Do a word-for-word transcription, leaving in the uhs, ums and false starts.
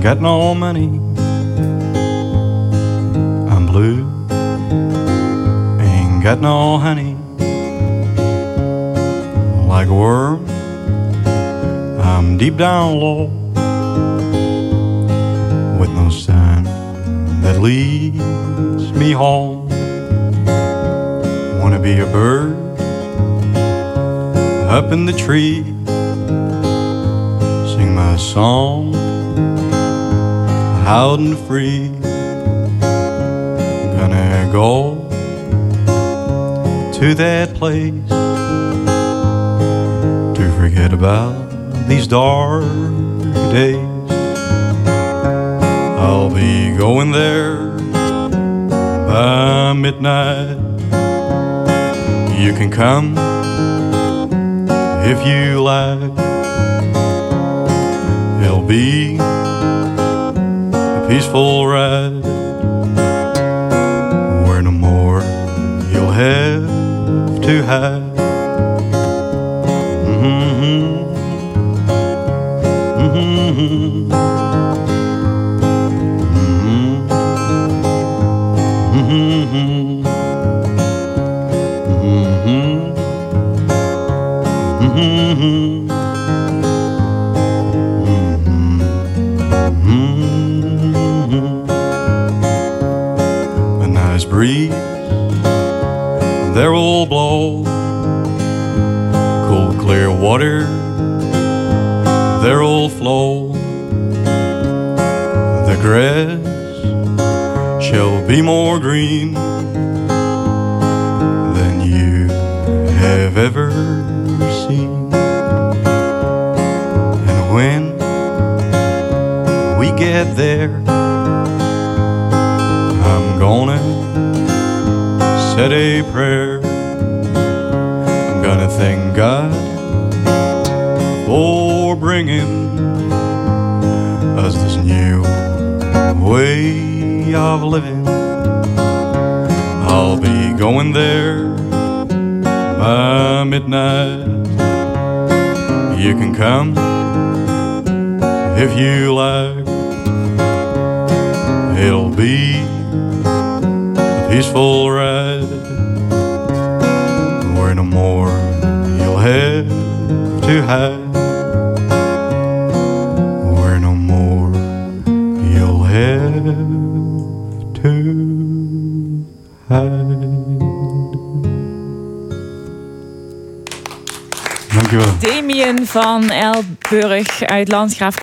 got no money. I'm blue. Ain't got no honey. Like a worm, I'm deep down low, with no sign that leads me home. Wanna be a bird up in the tree, sing my song out and free. Gonna go to that place to forget about these dark days. I'll be going there by midnight. You can come if you like. It'll be a peaceful ride where no more you'll have to hide. Mm-hmm. Mm-hmm. Mm-hmm. Mm-hmm. A nice breeze there will blow, cool clear water there'll flow. The grass shall be more green than you have ever seen. And when we get there, I'm gonna said a prayer. I'm gonna thank God for bringing us this new way of living. I'll be going there by midnight. You can come if you like. It'll be a peaceful ride where no more you'll have to hide. Where no more you'll have to hide. Dankjewel. Damien van Elburg uit Landgraaf